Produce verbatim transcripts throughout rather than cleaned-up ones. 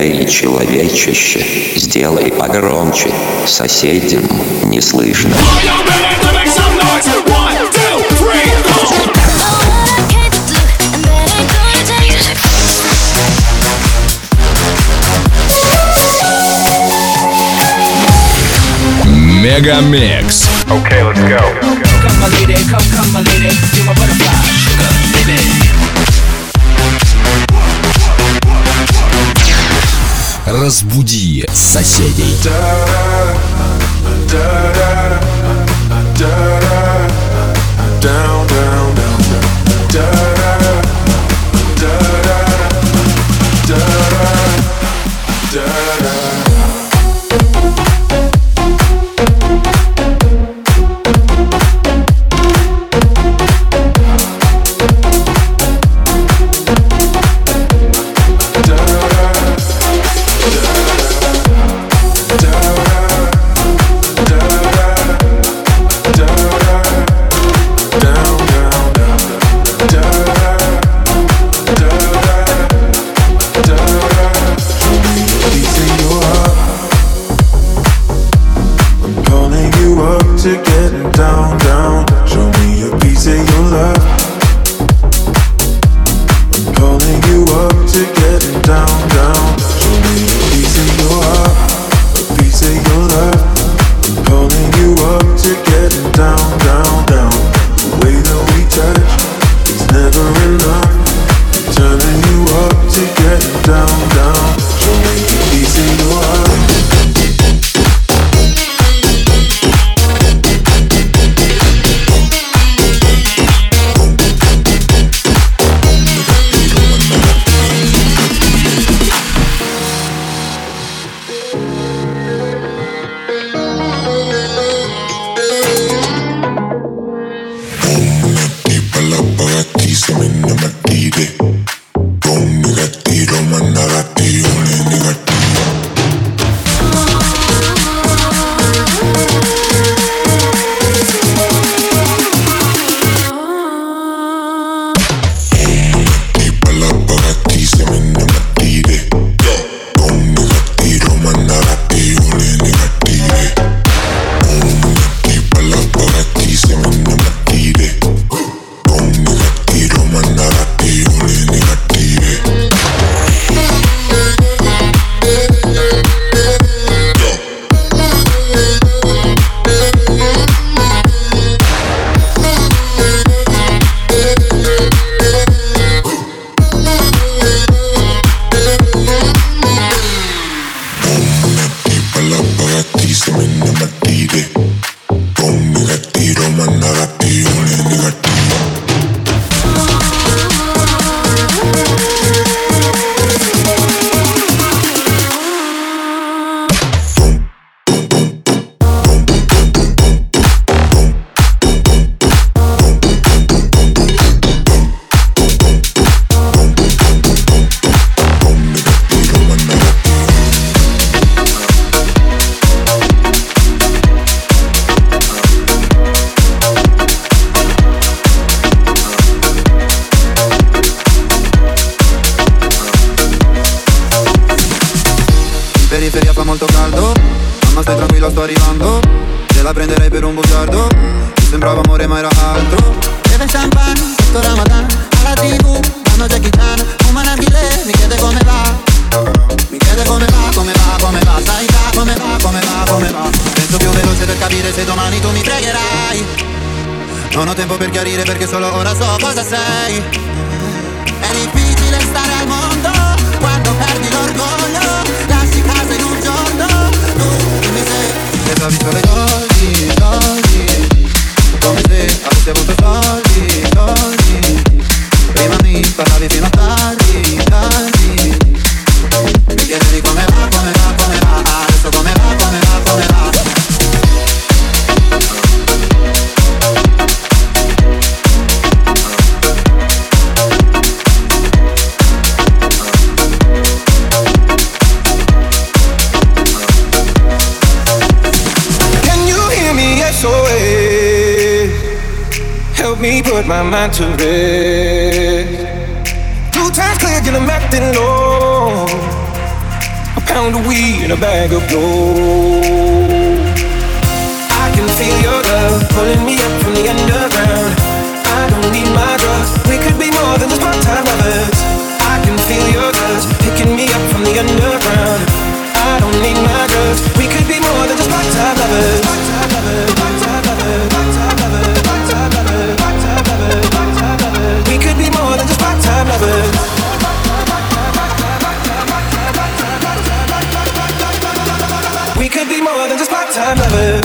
Эй, человечище, сделай погромче, соседям не слышно. Мегамикс. Okay, let's go. Come my lady, come, come my lady, you're my butterfly, sugar, baby. Разбуди соседей. Down, down, down, periferia fa molto caldo. Mamma stai tranquilla, sto arrivando. Te la prenderei per un bugiardo. Mi sembrava amore ma era altro. Beve champagne sotto Ramadan. Alla tivù danno Jackie Chan. Un manabile mi chiede come va. Mi chiede come va, come va, come va. Sai già come va, come va, come va. Penso più veloce per capire se domani tu mi pregherai. Non ho tempo per chiarire perché solo ora so cosa sei. È difficile stare al mondo quando perdi l'orgoglio. Lasci casa in un giorno. Tu dimmi se pensavi solo ai soldi, soldi. Come se avessi avuto soldi, soldi. Prima mi parlavi fino a tardi, tardi. Mi chiedevi come va, come va, come va. Adesso come va, come va, come va. Help me put my mind to rest. Two times clear, and I'm acting low. pound of weed and a bag of gold. I can feel your love pulling me up from the underground. I don't need my drugs. We could be more than just part-time lovers. I can feel your touch picking me up from the underground. I don't need my drugs. We could be more than just part-time lovers. Part-time lovers, part-time lovers, part-time lovers, part-time lovers, part-time lovers, part-time lovers. We could be more than just part-time lovers. We could be more than just part-time lovers.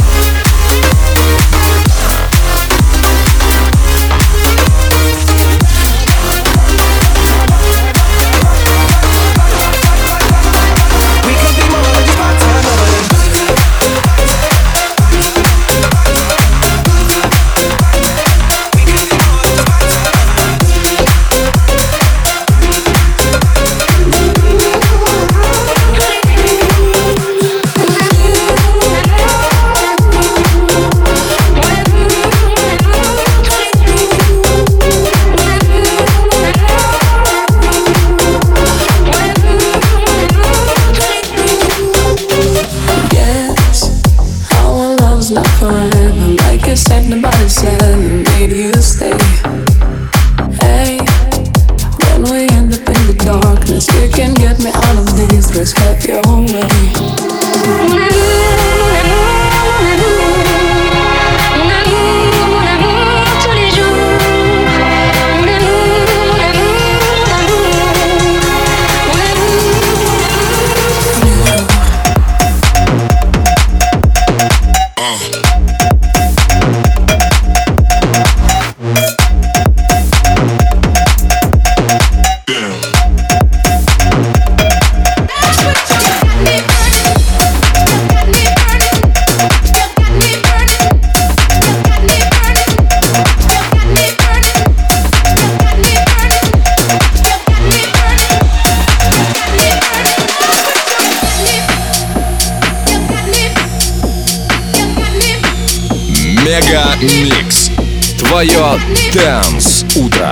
Мега Микс. Твое Dance утро.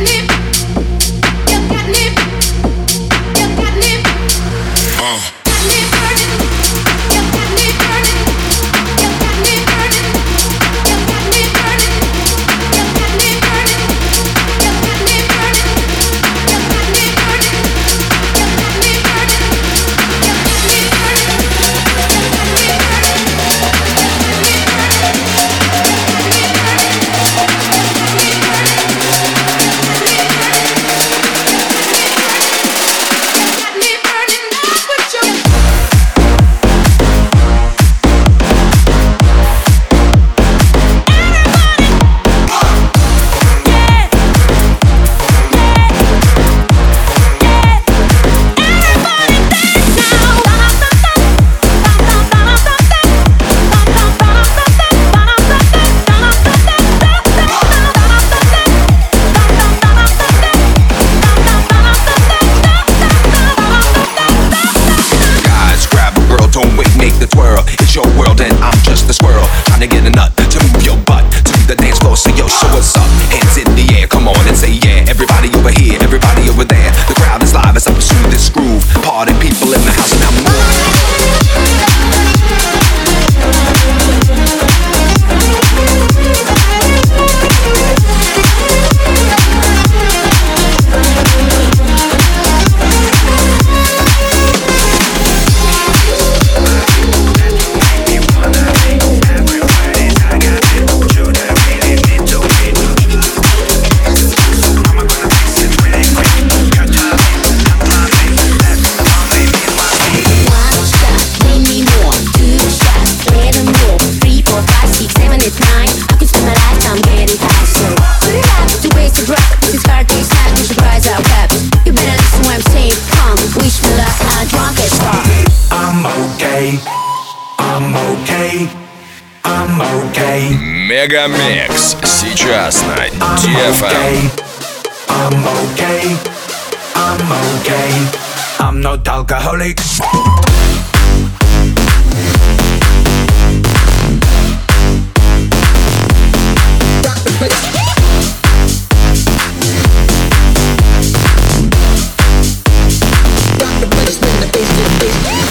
Мега Микс сейчас на ди эф эм. I'm okay, I'm okay, I'm not alcoholic. Rock the place. Rock the place, let the bass get bass.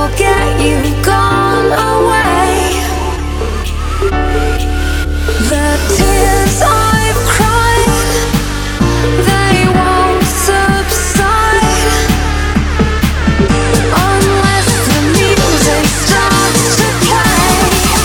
forget you gone away. The tears I've cried, they won't subside unless the music starts to play.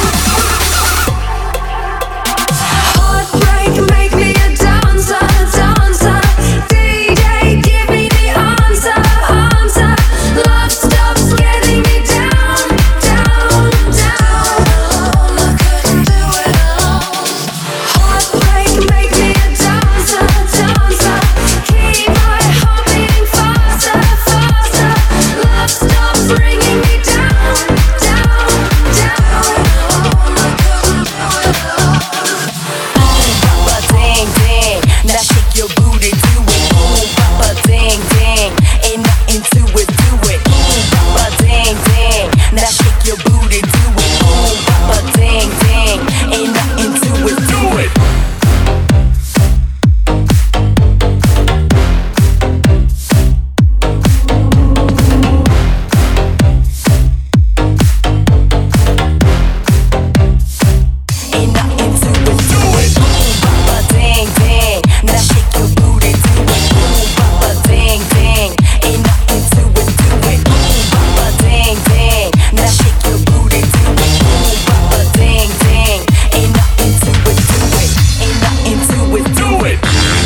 Heartbreak, make me a dancer, dancer. D J, give me the answer, answer. Love stops getting me down, down, down. I couldn't do it alone. Heartbreak, make me a dancer, dancer. Keep my heart beating faster, faster. Love stops bringing me down, down, down. I couldn't do it alone. Boom, papa, ding, ding. Now shake your booty, do it. Boom, papa, ding, ding. Ain't nothing to it, do it. Boom, papa, ding, ding. Now shake your booty, do it. Boom, papa, ding, ding. Ain't nothing to it, do it. Ain't nothing to it, do it. Boom, papa, ding, ding. Now shake your booty, do it. Boom, papa, ding, ding. Ain't nothing to it, do it. Boom, papa, ding, ding. Now shake your booty, do it. Boom, papa, ding, ding. Ain't nothing to it, do it. Ain't nothing to it, do it.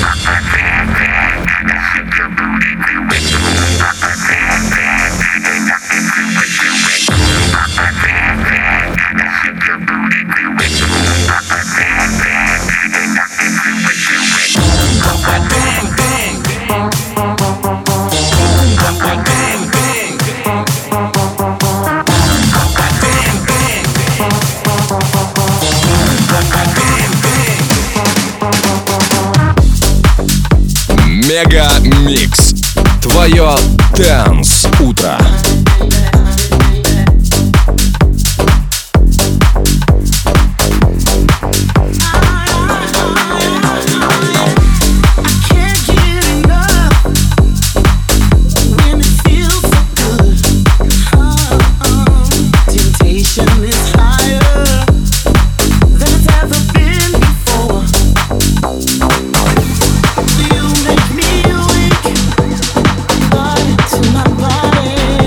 Мега Микс. Твое Dance утро. To my body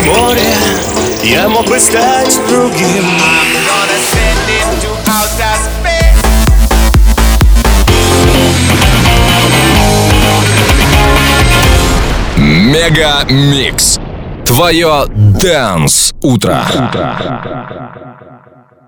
море, я мог бы стать другим. Мега Микс. Твое Dance утро.